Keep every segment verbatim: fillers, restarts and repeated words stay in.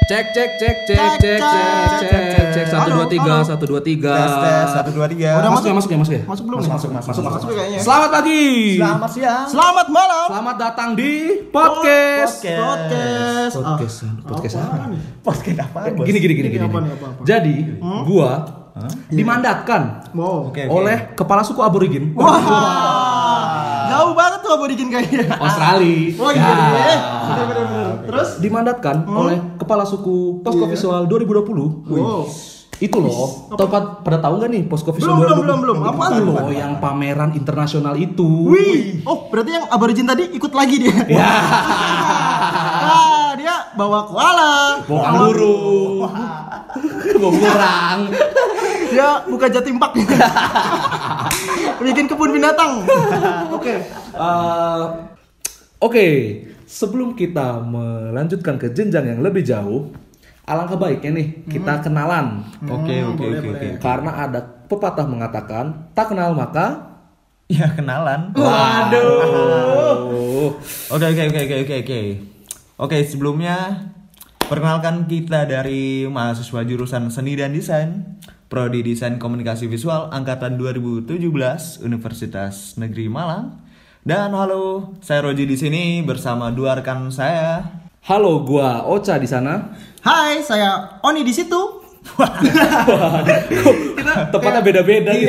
Cek cek cek cek cek cek cek cek satu dua tiga satu dua tiga tes tes satu dua tiga. Udah masuk ya masuk ya masuk ya Masuk belum? Masuk masuk masuk masuk kayaknya. Selamat pagi. Selamat siang. Selamat malam. Selamat datang di podcast. Podcast. Podcast. Podcast apa? Podcast apa? Gini gini gini gini. Jadi gua dimandatkan Wow. Oke, oke. oleh kepala suku aborigin Jauh banget tuh aborigin kayaknya. Australia. Oh iya. Benar benar benar. Terus Dimandatkan oleh kepala suku Posko Visual dua ribu dua puluh. wow. Itu loh, tepat pada tahu nggak nih Posko Visual Belum, dua ribu dua puluh? belum, belum, belum. Apaan Itu tuh? loh yang pameran internasional itu. Wih. Oh, berarti yang aborigin tadi ikut lagi dia. Ya. Ah, dia bawa koala. Bawa kanguru. Bawa kurang. Dia buka Jatim Park. Bikin kebun binatang. Oke. Eh, Oke, sebelum kita melanjutkan ke jenjang yang lebih jauh, alangkah baiknya nih kita kenalan. Oke oke boleh, oke oke. boleh. Karena ada pepatah mengatakan, tak kenal maka Ya kenalan. waduh. Oke oke oke oke oke oke. Oke, sebelumnya perkenalkan kita dari mahasiswa jurusan Seni dan Desain, Prodi Desain Komunikasi Visual angkatan dua ribu tujuh belas Universitas Negeri Malang. Dan halo, saya Roji di sini bersama dua rekan saya. Halo, gua Ocha di sana. Hai, saya Oni di situ. Tepatnya beda-beda gitu.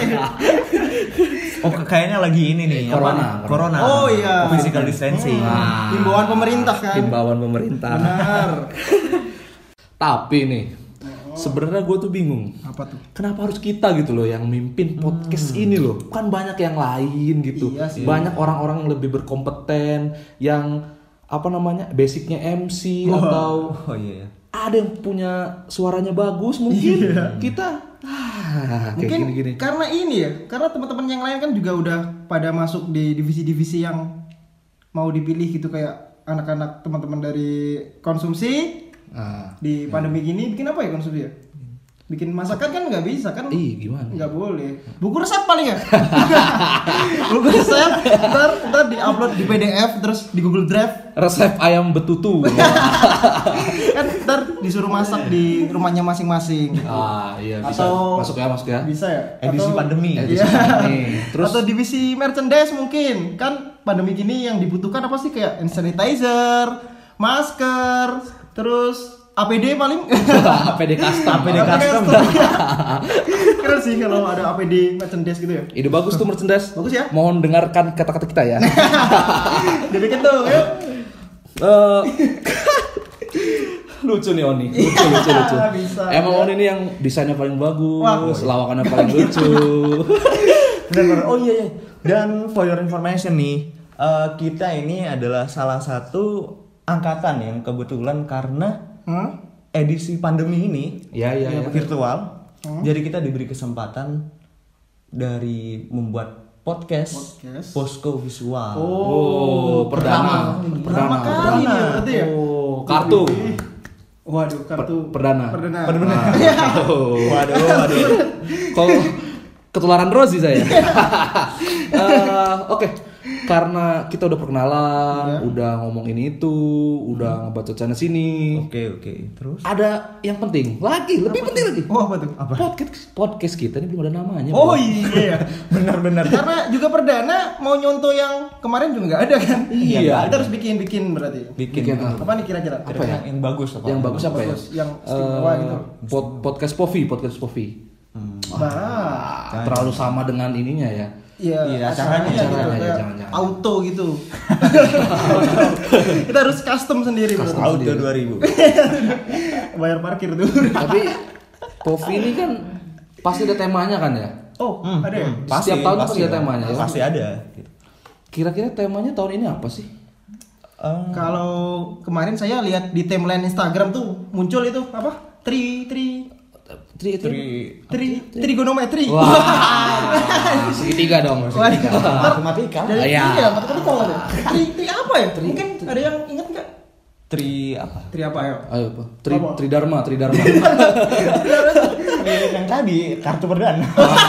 Oh, kayaknya lagi ini nih, Corona, apa? Corona. Oh, iya. Physical distancing. Nah. Himbauan pemerintah kan. Himbauan pemerintah. Benar. Tapi nih, sebenarnya gue tuh bingung. Apa tuh? Kenapa harus kita gitu loh yang mimpin podcast ini loh? Kan banyak yang lain gitu. Iya sih. Banyak orang-orang yang lebih berkompeten, yang apa namanya basicnya M C atau Oh iya. ada yang punya suaranya bagus mungkin. Kita ah, kayak Mungkin gini-gini. karena ini ya, karena teman-teman yang lain kan juga udah pada masuk di divisi-divisi yang mau dipilih gitu, kayak anak-anak teman-teman dari konsumsi Ah, di pandemi gini bikin apa ya konsumsi ya? Bikin masakan kan nggak bisa kan? ih gimana? Nggak boleh. Buku resep paling ya. Buku resep ntar ntar diupload di P D F terus di Google Drive. Resep ayam betutu. Kan ntar disuruh masak di rumahnya masing-masing. Ah iya bisa. Atau Masuk ya, masuk ya. Bisa ya? Edisi Atau- pandemi. Edisi Iya. pandemi. Terus atau divisi merchandise mungkin. Kan pandemi gini yang dibutuhkan apa sih, kayak hand sanitizer, masker, terus A P D paling. A P D custom. A P D custom. Keren sih kalau ada A P D merchandise gitu ya. Ide bagus tuh merchandise. Bagus ya. Mohon dengarkan kata-kata kita ya. Dibikin tuh, yuk. Eh, lucu nih Oni, lucu lucu lucu. Bisa, Emang ya. Oni ini yang desainnya paling bagus, Wah. lawakannya paling lucu. Benar-benar. Oh iya, iya. Dan for your information nih, eh, kita ini adalah salah satu angkatan yang kebetulan karena Hmm? edisi pandemi ini Iya iya iya. virtual. Jadi kita diberi kesempatan dari membuat podcast, Podcast. Posko Visual. Oh, perdana, Pertama kali nih ya berarti ya. Oh, kartu. Waduh, kartu Perdana. Perdana. Perdana. Oh. Waduh, waduh. Kok ketularan Rosi saya. Eh, Oke, karena kita udah perkenalan, Iya. udah ngomong ini itu, udah ngebacot sana sini. Oke, oke. Terus? Ada yang penting lagi, lebih penting lagi. Oh, apa tuh? Podcast podcast kita ini belum ada namanya. Oh Bro. iya. Benar-benar. Karena juga perdana mau nyontoh yang kemarin juga nggak ada kan? Iya. Kita harus bikin-bikin berarti. Bikin, Bikin apa? Apa nih kira-kira? Apa ya? yang, yang bagus apa? Yang bagus apa ya? Bagus, yang istimewa Eh, gitu. pod- podcast Povi, podcast Povi. Bah. Terlalu sama dengan ininya ya. Iya, Iya, acaranya acaranya, gitu, acaranya, kayak jangan, jangan. auto gitu. Kita harus custom sendiri. Custom. berarti. Auto dua ribu. Bayar parkir tuh. Tapi Povi ini kan pasti ada temanya kan ya? Oh, ada ya? Setiap tahun pasti ada temanya, ya? Pasti ada. Gitu. Kira-kira temanya tahun ini apa sih? Eh, Kalau kemarin saya lihat di timeline Instagram tuh muncul itu apa? Tri tri Tri itu. Tri- tri trigonometri. Wah, segitiga dong. Segitiga. matematika. Dari Iya. iya, matematika ada. Tri tri apa ya? Mungkin ada yang ingat nggak? Tri apa? Tri apa ya? Ayo, apa? Tri, Apa? Tridharma, Tridharma. Tri yang tadi kartu perdana.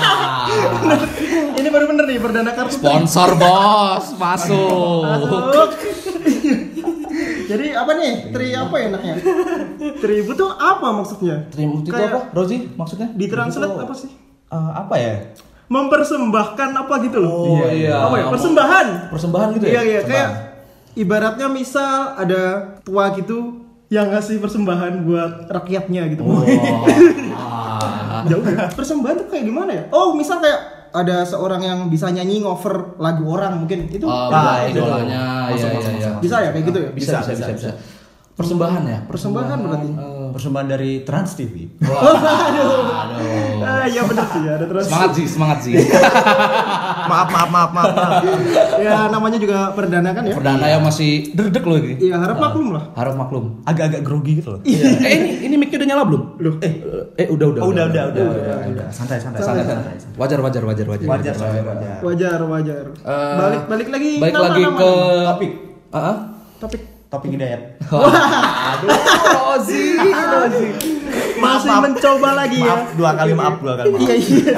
Ini baru bener nih perdana kartu. Sponsor bos, masuk. Masuk. Jadi apa nih? Tri apa ya enaknya? Tribut tuh apa maksudnya? Tribut itu Kayak apa? Rozi maksudnya? Ditranslate Itu- apa sih? Eh, apa ya? Mempersembahkan apa gitu loh. Oh iya. Apa ya? Persembahan. Persembahan gitu ya? Iya iya kayak ibaratnya misal ada tua gitu yang ngasih persembahan buat rakyatnya gitu. Oh. Ah. Jauh ya. Persembahan tuh kayak gimana ya? Oh, misal kayak ada seorang yang bisa nyanyi ngover lagu orang mungkin itu Oh, Ah, buat itu. idolanya. Masuk, Iya, masuk, iya, iya. masuk. bisa ya kayak gitu ya? Bisa, bisa, bisa, bisa. Persembahan ya? Persembahan berarti. eh, Persembahan dari Trans T V. Wah, aduh. Ah, iya benar sih ada terus. Semangat sih, semangat sih. maaf, maaf, maaf, maaf. maaf. Ya namanya juga perdana kan ya? Perdana yang masih derdek loh ini. Iya, harap maklum lah. Harap maklum. Agak-agak grogi gitu loh. Eh ini ini mic-nya udah nyala belum? Loh. Eh eh udah udah. Oh, udah, udah, udah, udah, udah. Santai, santai, Santai, santai. santai. Wajar wajar wajar wajar. Wajar, wajar, wajar. Wajar, wajar. Eh, balik balik lagi Balik nama, lagi nama, ke nama. Topik, Ah, ah. topik. topik hidayat. Aduh, Rozi, Rozi. Masih maaf. mencoba lagi ya. Maaf, dua kali maaf, dua kali maaf. Iya iya.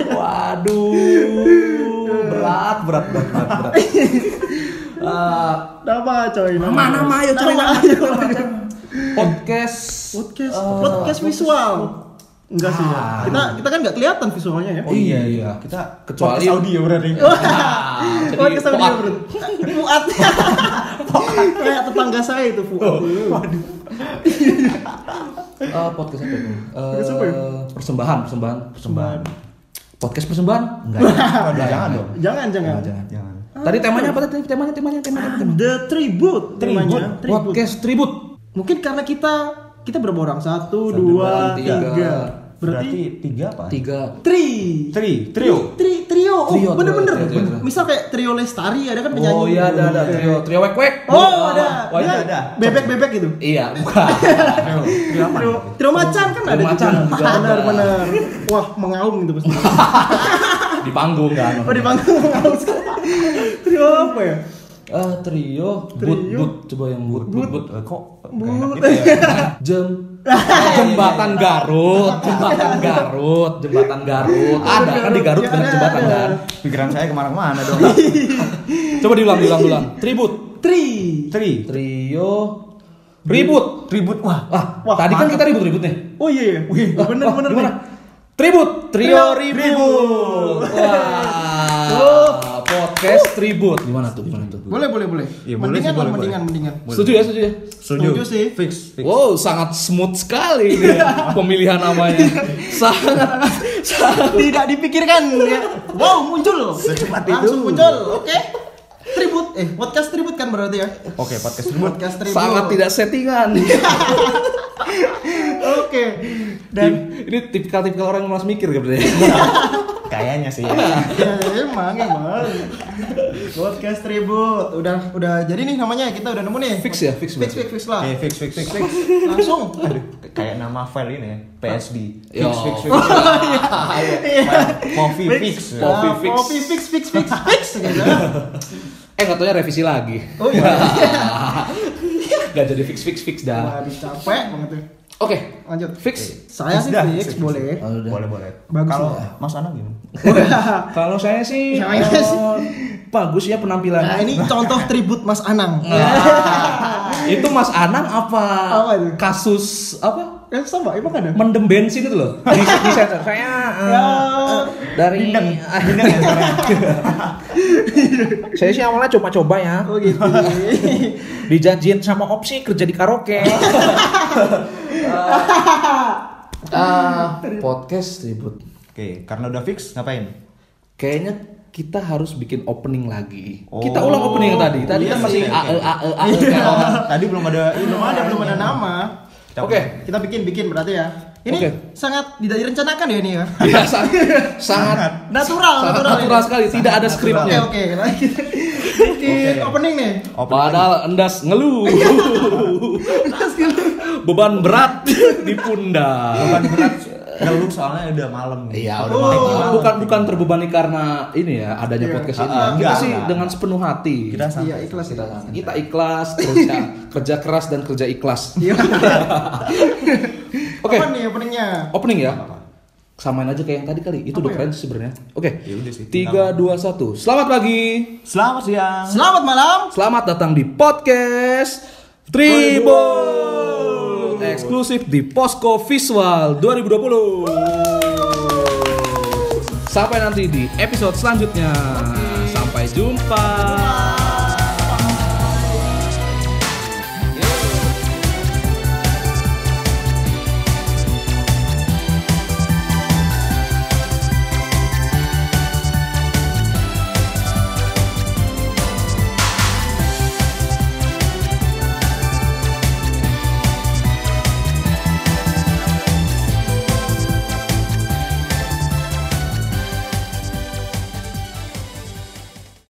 Waduh, berat berat berat berat. berat. Ah, Nama coy. Nama Nama, nama, ayo, coy, nama, ayo. podcast Podcast, eh, podcast visual. Enggak sih ya. Ah. Kita kita kan nggak kelihatan visualnya ya. Oh iya iya. Kita Kecuali- podcast audio berarti. Ah, jadi Podcast audio Fuad. bro. Fuad. Kayak tetangga saya itu Fuad. Waduh. Eh, podcast apa itu? Eh, Podcast apa ya? Persembahan, persembahan, Persembahan. Podcast persembahan? Enggak. ya? Waduh, jangan dong. Jangan jangan. Jangan. Jangan. Tadi temanya apa tadi? Temanya, temanya, temanya, temanya. The Tribute namanya. Tribute. Podcast tribut. Mungkin karena kita kita berapa orang? Satu, Satu, dua, dua, tiga. tiga. Berarti Berarti tiga apa? Tiga. tri. Tri, trio. Tri, trio. Oh, Trio, bener-bener. trio, trio, trio. Misal kayak trio Lestari ada kan penyanyi. Oh iya ada ada trio trio wek wek. Oh, ada. Wah, Dia iya. ada. Bebek-bebek gitu. Iya, bukan. Trio, trio apa? Trio, trio macan kan ada macan juga. juga ada. Benar benar. Wah, mengaum gitu pasti. Di panggung kan. Oh, di panggung mengaum sekali. Trio apa ya? Ah, trio, but Trio. but coba yang but but but. Eh, Kok But. kayak enak gitu ya? Jem jembatan Garut, jembatan Garut, jembatan Garut. Ada kan di Garut Ya, banyak ada, jembatan ada. kan. Pikiran saya kemana-mana dong. Coba diulang, diulang, diulang. Tribut, Tri. Tri, trio, ribut. tribut. Wah, Ah, Wah, tadi kan mantap. kita ribut ribut nih. Oh iya iya. Wih, Ah, bener ah, bener gimana? nih. Tribut, trio Trio ribut. ribut. Wah, Oh. podcast tribut. Gimana tuh? Gimana tuh? Boleh boleh boleh. Iya, boleh mendingan sih, lah, boleh, mendingan boleh. mendingan. Setuju ya, setuju ya. Setuju sih. Fix, fix. Wow, sangat smooth sekali ini pemilihan namanya. Sangat, sangat. Tidak dipikirkan ya. Wow, muncul. Secepat Langsung itu. muncul. Oke. Tribut. Eh, podcast tribut kan berarti ya? Oke, podcast tribut. Podcast tribut. Sangat tidak settingan. Oke. Dan ini tipikal-tipikal orang yang malas mikir gitu ya. Kayaknya sih ya. ya, emang emang podcast tribut udah udah jadi nih namanya kita udah nemu nih. Fix ya, fix fix berarti. fix, fix lah. Oke, fix, fix, fix, fix. Langsung. Aduh, kayak nama file ini ya, P S D. Fix, Yo. fix, fix. Movi fix. Kopi Ah, fix. Kopi fix fix fix fix gitu. Eh nggak taunya revisi lagi. Oh iya. Gak jadi fix fix fix dah. Waduh capek banget tuh. Oke, Lanjut. fix. Saya sih Dah. fix boleh. Oh, udah. Boleh, boleh. Bagus Kalau lah. Mas Anang gimana? Kalau saya sih, Saya eh, sih. bagus ya penampilannya. Nah, ini contoh tribut Mas Anang. Nah, itu Mas Anang apa? Apa itu? Kasus apa? Eh sama, emang ada? Mendem bensin itu loh. Di, di sensor. Saya eh, Ya. eh, dari Bindeng. Bindeng ya sekarang. saya sih awalnya coba-coba ya. Oh gitu. Dijanjiin sama opsi kerja di karaoke. Ah, podcast ribut. Oke, karena udah fix ngapain? Kayaknya kita harus bikin opening lagi. Oh. Kita ulang opening yang tadi. Tadi Iya kan sih, masih oke. A E A E A E kan. Tadi belum ada Belum ada belum ada nama. Kita- Oke. Kita bikin bikin berarti ya. Ini Oke. sangat tidak direncanakan ya ini ya. Iya, sangat, sangat Natural, sangat natural. natural sekali. Tidak ada Oke skripnya. oke. Nah, kita bikin Oke. opening nih. Padahal endas ngeluh. Beban berat di pundak. Beban berat ngeluh soalnya udah malam. Iya, udah Oh. malam. Bukan bukan terbebani karena ini ya adanya Iya. podcast ini. Ah, kita enggak, sih enggak. dengan sepenuh hati. Kita santai. Iya, ikhlas kita, kita. kita ikhlas kerja kerja keras dan kerja ikhlas. Iya. Oke. Apa nih openingnya? Opening ya. Samain aja kayak yang tadi kali. Itu Apa udah ya? keren sih sebenarnya. Oke. Ya udah sih. Tiga, dua, satu. Selamat pagi. Selamat siang. Selamat malam. Selamat datang di podcast Tribun eksklusif di Posko Visual dua ribu dua puluh. Sampai nanti di episode selanjutnya. Sampai jumpa.